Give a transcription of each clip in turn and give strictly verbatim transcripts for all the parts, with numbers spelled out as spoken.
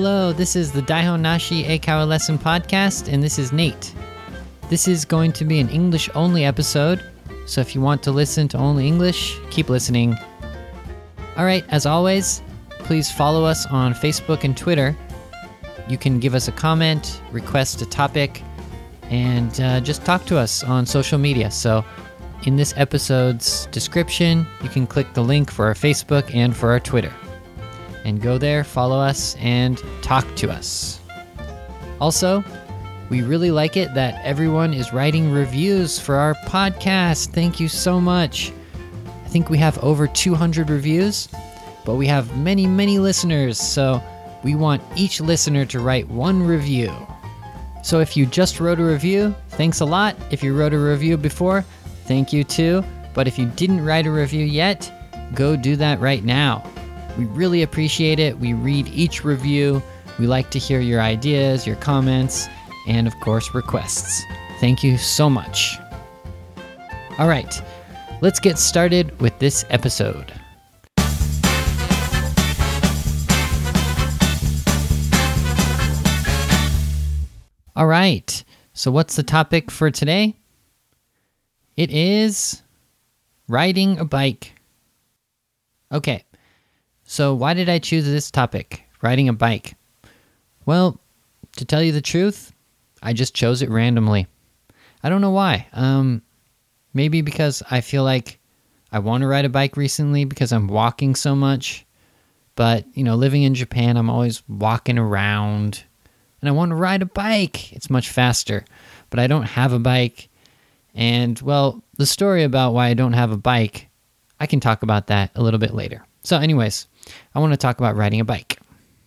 Hello, this is the Daihon Nashi Eikaiwa Lesson Podcast, and this is Nate. This is going to be an English-only episode, so if you want to listen to only English, keep listening. Alright, as always, please follow us on Facebook and Twitter. You can give us a comment, request a topic, and uh, just talk to us on social media. So in this episode's description, you can click the link for our Facebook and for our Twitter. And go there, follow us, and talk to us. Also, we really like it that everyone is writing reviews for our podcast. Thank you so much. I think we have over two hundred reviews, but we have many, many listeners, so we want each listener to write one review. So if you just wrote a review, thanks a lot. If you wrote a review before, thank you too. But if you didn't write a review yet, go do that right now. We really appreciate it. We read each review. We like to hear your ideas, your comments, and of course, requests. Thank you so much. All right, let's get started with this episode. All right, so what's the topic for today? It is riding a bike. Okay. So why did I choose this topic, riding a bike? Well, to tell you the truth, I just chose it randomly. I don't know why. Um, maybe because I feel like I want to ride a bike recently because I'm walking so much. But, you know, living in Japan, I'm always walking around. And I want to ride a bike. It's much faster. But I don't have a bike. And, well, the story about why I don't have a bike, I can talk about that a little bit later. So anyways, I want to talk about riding a bike.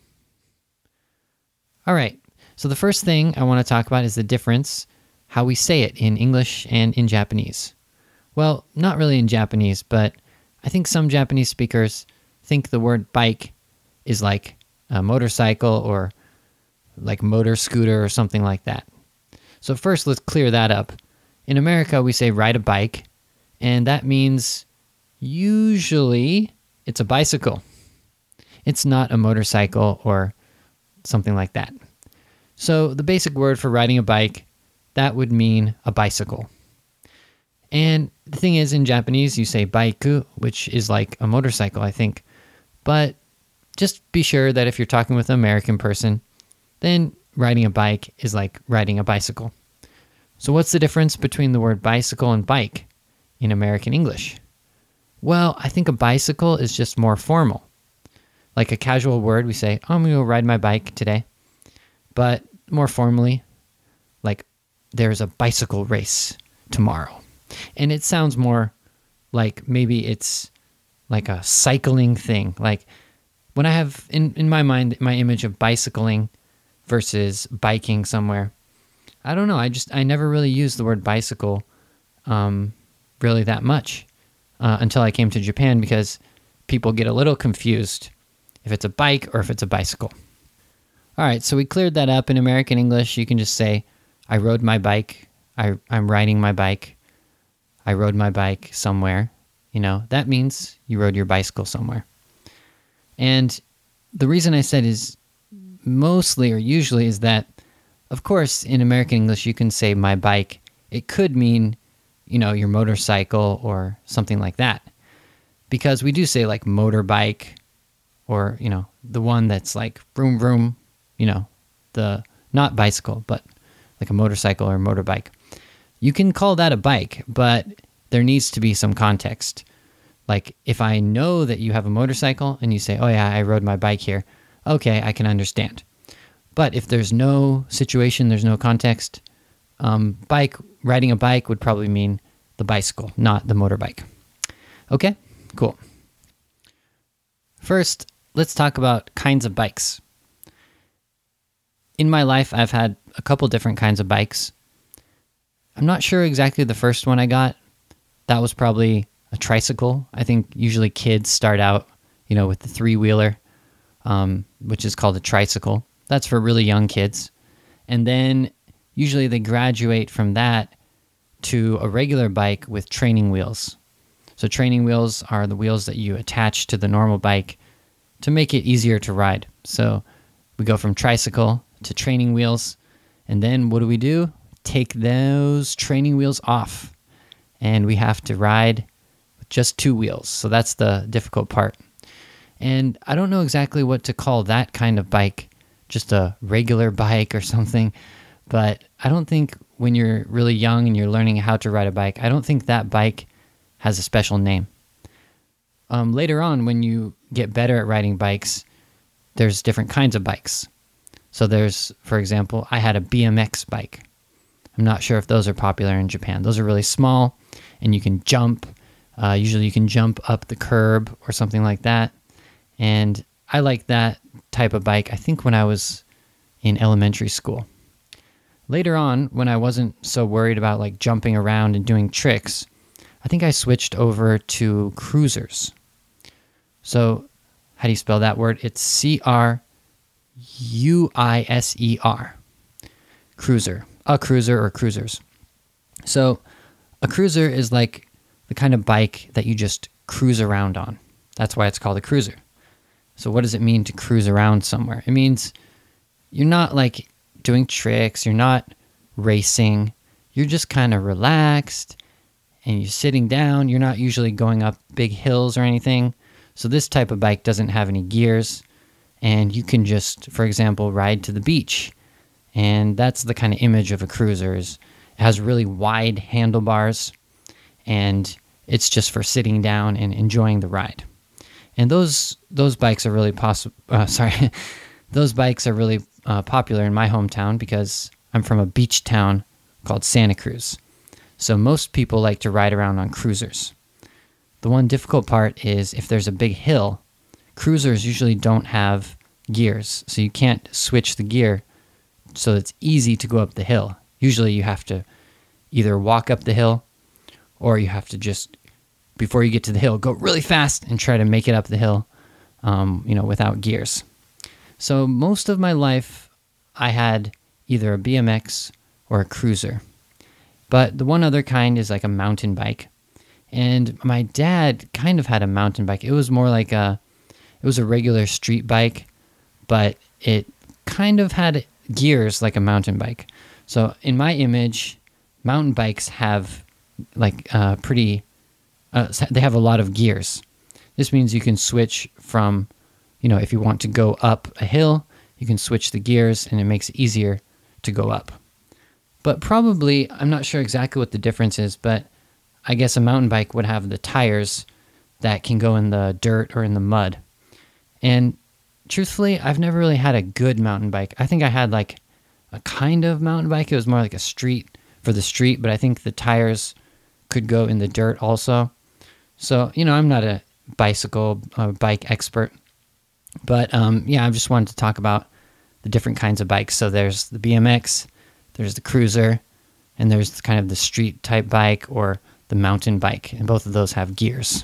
All right, so the first thing I want to talk about is the difference, how we say it in English and in Japanese. Well, not really in Japanese, but I think some Japanese speakers think the word bike is like a motorcycle or like motor scooter or something like that. So first, let's clear that up. In America, we say ride a bike, and that means usually it's a bicycle. It's not a motorcycle or something like that. So the basic word for riding a bike, that would mean a bicycle. And the thing is, in Japanese, you say baiku, which is like a motorcycle, I think. But just be sure that if you're talking with an American person, then riding a bike is like riding a bicycle. So what's the difference between the word bicycle and bike in American English? Well, I think a bicycle is just more formal. Like a casual word, we say, oh, I'm going to go ride my bike today. But more formally, like there's a bicycle race tomorrow. And it sounds more like maybe it's like a cycling thing. Like when I have, in, in my mind, my image of bicycling versus biking somewhere, I don't know. I just, I never really used the word bicycle um, really that much. Uh, until I came to Japan because people get a little confused if it's a bike or if it's a bicycle. All right, so we cleared that up. In American English, you can just say, I rode my bike. I, I'm riding my bike. I rode my bike somewhere. You know, that means you rode your bicycle somewhere. And the reason I said is mostly or usually is that, of course, in American English, you can say my bike. It could mean you know, your motorcycle or something like that. Because we do say like motorbike or, you know, the one that's like vroom vroom, you know, the, not bicycle, but like a motorcycle or motorbike. You can call that a bike, but there needs to be some context. Like if I know that you have a motorcycle and you say, oh yeah, I rode my bike here. Okay, I can understand. But if there's no situation, there's no context, um, bike, riding a bike would probably mean the bicycle, not the motorbike. Okay, cool. First, let's talk about kinds of bikes. In my life, I've had a couple different kinds of bikes. I'm not sure exactly the first one I got. That was probably a tricycle. I think usually kids start out, you know, with the three-wheeler, um, which is called a tricycle. That's for really young kids. And then usually they graduate from that to a regular bike with training wheels. So training wheels are the wheels that you attach to the normal bike to make it easier to ride. So We go from tricycle to training wheels. And then what do we do? Take those training wheels off. And we have to ride with just two wheels. So that's the difficult part. And I don't know exactly what to call that kind of bike, just a regular bike or something. But I don't think when you're really young and you're learning how to ride a bike, I don't think that bike has a special name. Um, later on, when you get better at riding bikes, there's different kinds of bikes. So there's, for example, I had a B M X bike. I'm not sure if those are popular in Japan. Those are really small, and you can jump. Uh, usually you can jump up the curb or something like that. And I like that type of bike, I think, when I was in elementary school. Later on, when I wasn't so worried about like jumping around and doing tricks, I think I switched over to cruisers. So how do you spell that word? It's C R U I S E R. Cruiser. A cruiser or cruisers. So a cruiser is like the kind of bike that you just cruise around on. That's why it's called a cruiser. So what does it mean to cruise around somewhere? It means you're not like doing tricks, you're not racing, you're just kind of relaxed and you're sitting down. You're not usually going up big hills or anything. So this type of bike doesn't have any gears, and you can just, for example, ride to the beach. And that's the kind of image of a cruiser. Is it has really wide handlebars, and it's just for sitting down and enjoying the ride. And those those bikes are really possible. Uh, sorry, those bikes are really uh, popular in my hometown because I'm from a beach town called Santa Cruz. So most people like to ride around on cruisers. The one difficult part is if there's a big hill, cruisers usually don't have gears, so you can't switch the gear so it's easy to go up the hill. Usually you have to either walk up the hill or you have to just, before you get to the hill, go really fast and try to make it up the hill, um, you know, without gears. So most of my life, I had either a B M X or a cruiser. But the one other kind is like a mountain bike. And my dad kind of had a mountain bike. It was more like a, it was a regular street bike, but it kind of had gears like a mountain bike. So in my image, mountain bikes have like uh, pretty, uh, they have a lot of gears. This means you can switch from, you know, if you want to go up a hill, you can switch the gears and it makes it easier to go up. But probably, I'm not sure exactly what the difference is, but I guess a mountain bike would have the tires that can go in the dirt or in the mud. And truthfully, I've never really had a good mountain bike. I think I had like a kind of mountain bike. It was more like a street for the street, but I think the tires could go in the dirt also. So, you know, I'm not a bicycle uh, bike expert. But um, yeah, I just wanted to talk about the different kinds of bikes. So there's the B M X, there's the cruiser, and there's kind of the street type bike or the mountain bike. And both of those have gears.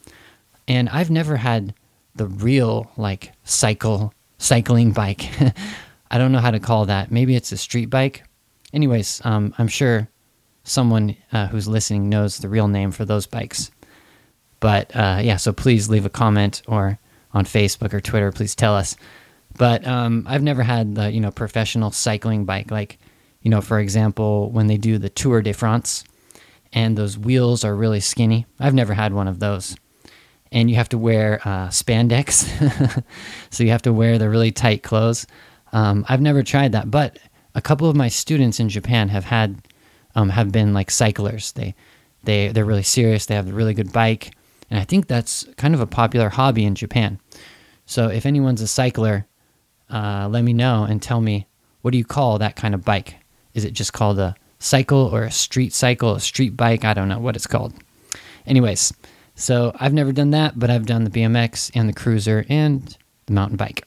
And I've never had the real like cycle, cycling bike. I don't know how to call that. Maybe it's a street bike. Anyways, um, I'm sure someone uh, who's listening knows the real name for those bikes. But uh, yeah, so please leave a comment or on Facebook or Twitter, please tell us. But um, I've never had the, you know, professional cycling bike. Like, you know, for example, when they do the Tour de France and those wheels are really skinny. I've never had one of those. And you have to wear uh, spandex. So you have to wear the really tight clothes. Um, I've never tried that, but a couple of my students in Japan have had, um, have been like cyclers. They, they, they're really serious. They have a really good bike. And I think that's kind of a popular hobby in Japan. So if anyone's a cycler, uh, let me know and tell me, what do you call that kind of bike? Is it just called a cycle or a street cycle, a street bike? I don't know what it's called. Anyways, so I've never done that, but I've done the B M X and the cruiser and the mountain bike.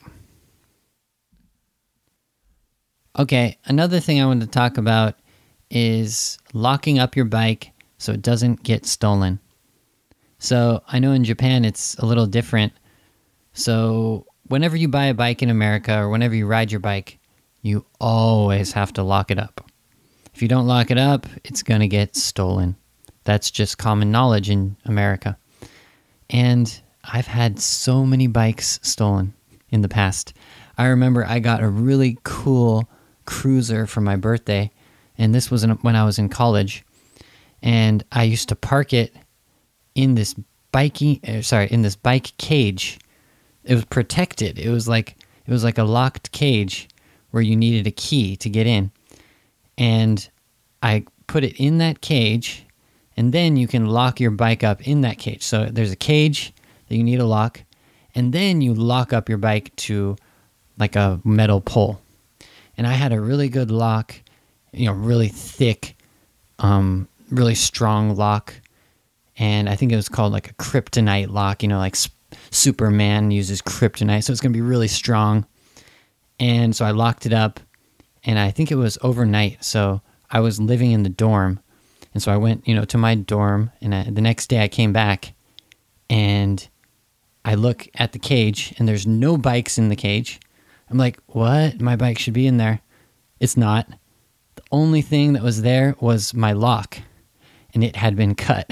Okay, another thing I wanted to talk about is locking up your bike so it doesn't get stolen. So I know in Japan it's a little different. So whenever you buy a bike in America or whenever you ride your bike, you always have to lock it up. If you don't lock it up, it's going to get stolen. That's just common knowledge in America. And I've had so many bikes stolen in the past. I remember I got a really cool cruiser for my birthday, and this was in, when I was in college, and I used to park it in this biking, uh, sorry, in this bike cage. It was protected. It was like it was like a locked cage where you needed a key to get in, and I put it in that cage, and then you can lock your bike up in that cage. So there's a cage that you need to lock, and then you lock up your bike to like a metal pole. And I had a really good lock, you know, really thick, um, really strong lock. And I think it was called like a kryptonite lock, you know, like Sp- Superman uses kryptonite. So it's going to be really strong. And so I locked it up, and I think it was overnight. So I was living in the dorm. And so I went, you know, to my dorm, and I, the next day I came back, and I look at the cage, and there's no bikes in the cage. I'm like, what? My bike should be in there. It's not. The only thing that was there was my lock, and it had been cut.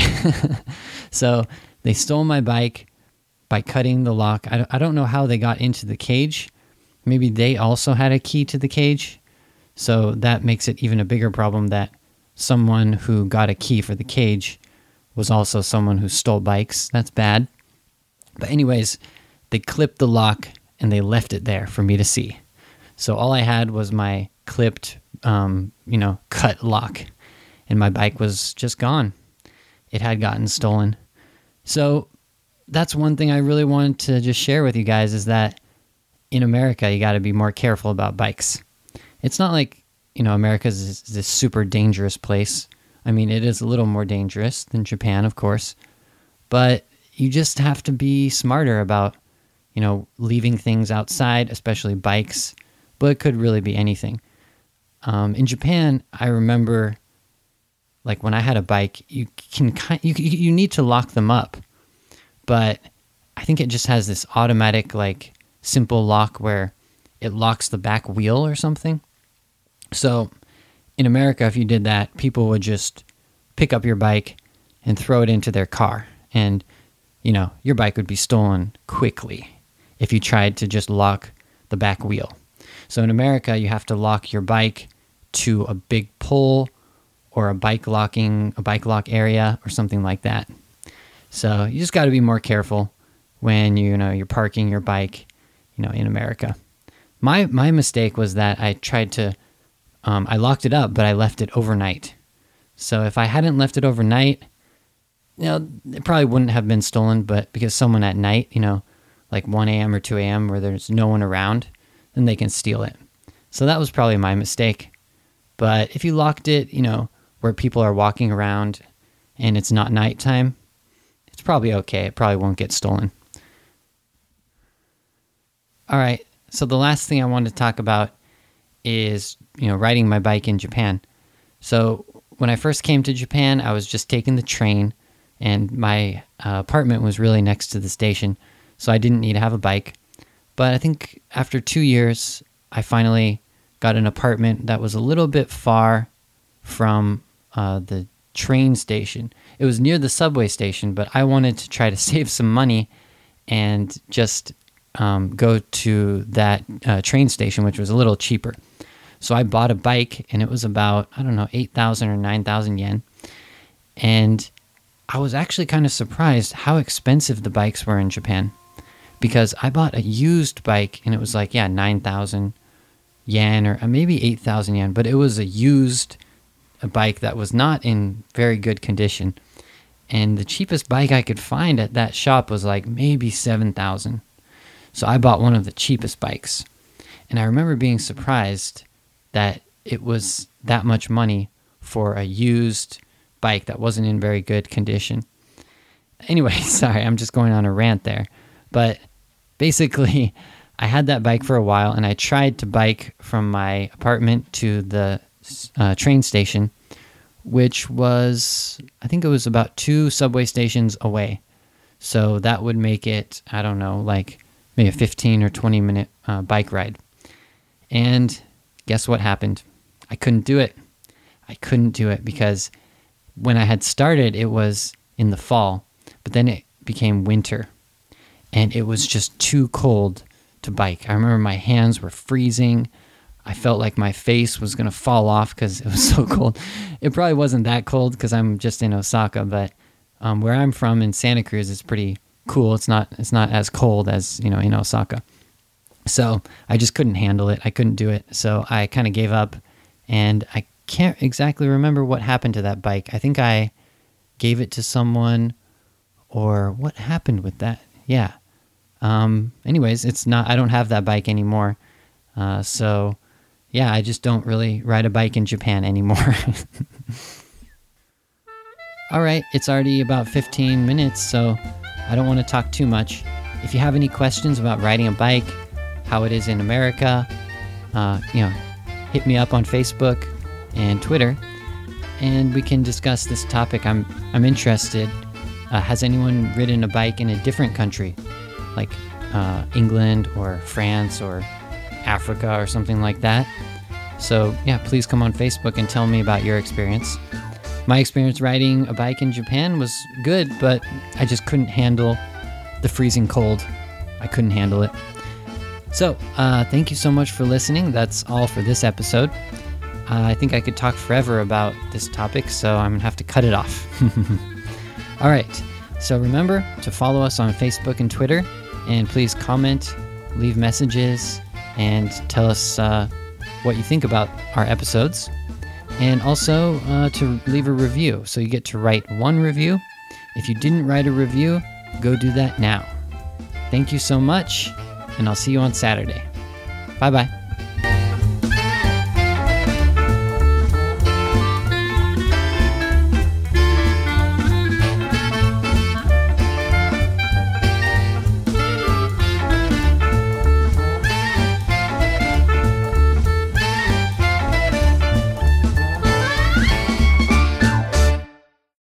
So they stole my bike by cutting the lock. I don't, I don't know how they got into the cage. Maybe they also had a key to the cage. So that makes it even a bigger problem that someone who got a key for the cage was also someone who stole bikes. That's bad. But anyways, they clipped the lock, and they left it there for me to see. So all I had was my clipped, um, you know, cut lock, and my bike was just gone. It had gotten stolen. So that's one thing I really wanted to just share with you guys, is that in America, you got to be more careful about bikes. It's not like, you know, America is this super dangerous place. I mean, it is a little more dangerous than Japan, of course, but you just have to be smarter about, you know, leaving things outside, especially bikes, but it could really be anything. Um, in Japan, I remember, like when I had a bike, you can you you need to lock them up, but I think it just has this automatic, like, simple lock where it locks the back wheel or something. So in America, if you did that, people would just pick up your bike and throw it into their car, and you know, your bike would be stolen quickly if you tried to just lock the back wheel. So in America, you have to lock your bike to a big pole or a bike locking, a bike lock area or something like that. So you just got to be more careful when you, you know, you're parking your bike, you know, in America. My my mistake was that I tried to, um, I locked it up, but I left it overnight. So if I hadn't left it overnight, you know, it probably wouldn't have been stolen, but because someone at night, you know, like one a.m. or two a.m. where there's no one around, then they can steal it. So that was probably my mistake. But if you locked it, you know, where people are walking around and it's not nighttime, it's probably okay. It probably won't get stolen. All right. So the last thing I wanted to talk about is, you know, riding my bike in Japan. So when I first came to Japan, I was just taking the train, and my uh, apartment was really next to the station, so I didn't need to have a bike. But I think after two years, I finally got an apartment that was a little bit far from uh, the train station. It was near the subway station, but I wanted to try to save some money and just um, go to that uh, train station, which was a little cheaper. So I bought a bike, and it was about, I don't know, eight thousand or nine thousand yen. And I was actually kind of surprised how expensive the bikes were in Japan, because I bought a used bike, and it was like, yeah, nine thousand yen or maybe eight thousand yen, but it was a used a bike that was not in very good condition. And the cheapest bike I could find at that shop was like maybe seven thousand. So I bought one of the cheapest bikes. And I remember being surprised that it was that much money for a used bike that wasn't in very good condition. Anyway, sorry, I'm just going on a rant there. But basically, I had that bike for a while, and I tried to bike from my apartment to the uh, train station, which was, I think it was about two subway stations away. So that would make it, I don't know, like maybe a fifteen or twenty minute uh, bike ride. And guess what happened? I couldn't do it. I couldn't do it because when I had started, it was in the fall, but then it became winter, and it was just too cold to bike. I remember my hands were freezing. I felt like my face was going to fall off because it was so cold. It probably wasn't that cold because I'm just in Osaka, but um, where I'm from in Santa Cruz, it's pretty cool. It's not it's not as cold as, you know, in Osaka. So I just couldn't handle it. I couldn't do it. So I kind of gave up, and I can't exactly remember what happened to that bike. I think I gave it to someone, or what happened with that? Yeah. Um, anyways, it's not, I don't have that bike anymore. Uh, so yeah, I just don't really ride a bike in Japan anymore. All right, it's already about fifteen minutes, so I don't want to talk too much. If you have any questions about riding a bike, how it is in America, uh, you know, hit me up on Facebook and Twitter, and we can discuss this topic. I'm I'm interested. Uh, has anyone ridden a bike in a different country, like uh, England or France or Africa or something like that? So yeah, please come on Facebook and tell me about your experience. My experience riding a bike in Japan was good, but I just couldn't handle the freezing cold. I couldn't handle it. So, uh, thank you so much for listening. That's all for this episode. Uh, I think I could talk forever about this topic, so I'm going to have to cut it off. All right. So remember to follow us on Facebook and Twitter, and please comment, leave messages, and tell us uh, what you think about our episodes. And also uh, to leave a review. So you get to write one review. If you didn't write a review, go do that now. Thank you so much, and I'll see you on Saturday. Bye-bye.